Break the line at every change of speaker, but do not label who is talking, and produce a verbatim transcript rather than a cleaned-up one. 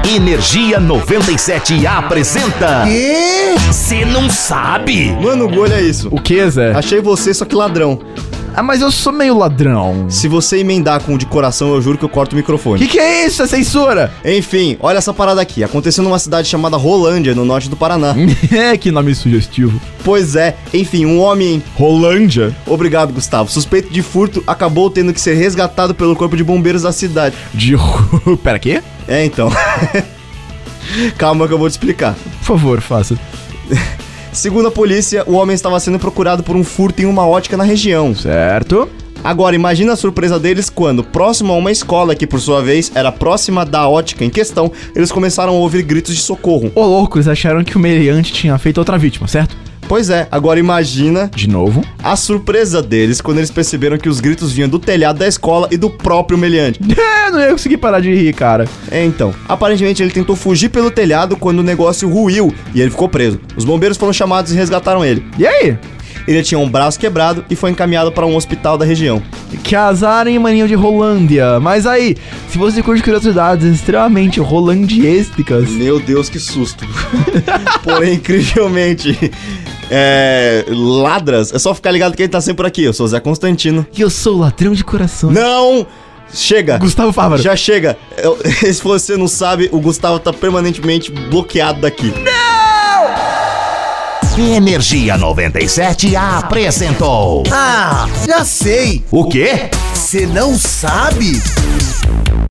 Energia noventa e sete apresenta...
Quê?
Cê não sabe?
Mano, olha isso.
O que, Zé?
Achei você, só que ladrão.
Ah, mas eu sou meio ladrão.
Se você emendar com o de coração, eu juro que eu corto o microfone.
Que que é isso? É censura?
Enfim, olha essa parada aqui. Aconteceu numa cidade chamada Rolândia, no norte do Paraná.
É, que nome sugestivo.
Pois é, enfim, um homem...
Rolândia?
Obrigado, Gustavo. Suspeito de furto acabou tendo que ser resgatado pelo corpo de bombeiros da cidade.
De... Pera, quê?
É, então. Calma que eu vou te explicar.
Por favor, faça.
Segundo a polícia, o homem estava sendo procurado por um furto em uma ótica na região.
Certo.
Agora, imagina a surpresa deles quando, próximo a uma escola que, por sua vez, era próxima da ótica em questão, eles começaram a ouvir gritos de socorro.
Ô, louco, eles acharam que o meliante tinha feito outra vítima, certo?
Pois é, agora imagina...
De novo?
A surpresa deles quando eles perceberam que os gritos vinham do telhado da escola e do próprio meliante.
É, não ia conseguir parar de rir, cara.
É, então. Aparentemente ele tentou fugir pelo telhado quando o negócio ruiu e ele ficou preso. Os bombeiros foram chamados e resgataram ele.
E aí?
Ele tinha um braço quebrado e foi encaminhado para um hospital da região.
Que azar, hein, maninho de Rolândia. Mas aí, se você curte curiosidades extremamente rolandiesticas...
Meu Deus, que susto. Porém, incrivelmente... É... Ladras, é só ficar ligado que ele tá sempre por aqui. Eu sou o Zé Constantino.
E eu sou o ladrão de corações.
Não! Chega!
Gustavo Fávaro.
Já chega! Eu, se você não sabe, o Gustavo tá permanentemente bloqueado daqui.
Energia noventa e sete apresentou...
Ah, já sei.
O quê?
Você não sabe?